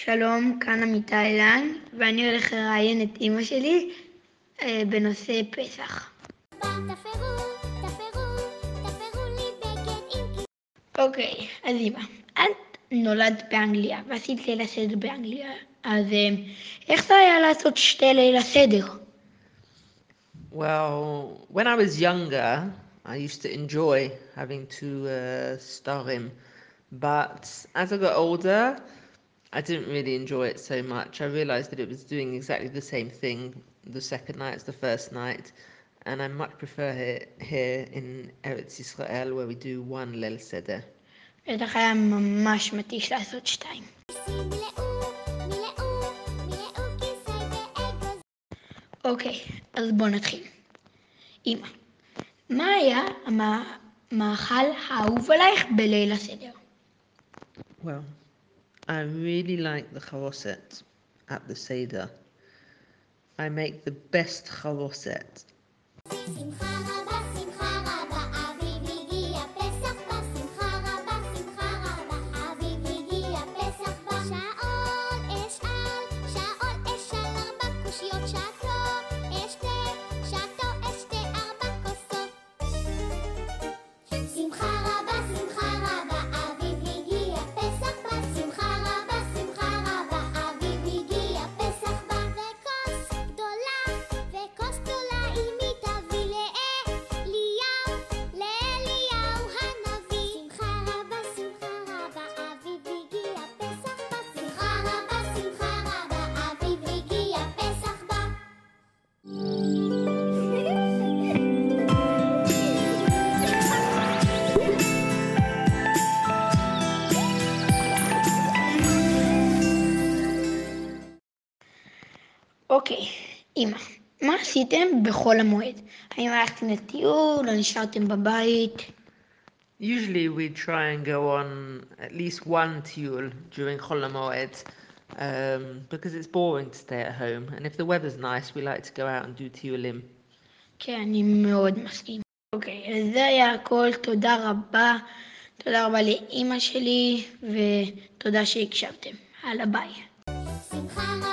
שלום, כאן עמיתה אילן, ואני הולך לראיין את אמא שלי בנושא פסח. אוקיי, אז אמא, את נולדת באנגליה ועשית ליל הסדר באנגליה, אז איך זה היה לעשות שתי ליל הסדר? Well, when I was younger, I used to enjoy having to star him, but as I got older, I didn't really enjoy it so much. I realized that it was doing exactly the same thing the second night as the first night, and I much prefer it here in Eretz Israel, where we do one Leil Seder. בטח היה ממש מתיש לעשות שתיים. אוקיי, אז בוא נתחיל. אמא, מה היה המאכל האהוב עלייך בליל הסדר? Well, I really like the charoset at the Seder. I make the best charoset. אוקיי, אמא, מה עשיתם בחול המועד? האם הלכתם לטיול או נשארתם בבית? Usually we try and go on at least one tiul during Chol HaMoed, because it's boring to stay at home, and if the weather's nice, we like to go out and do tiulim. כן, אני מאוד מסכים. אוקיי, אז זה היה הכל. תודה רבה. תודה רבה לאמא שלי, ותודה שהקשבתם. הלאה, ביי.